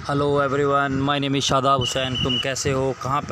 Hello everyone, my name is Shadab Hussain. तुम कैसे हो, कहाँ पर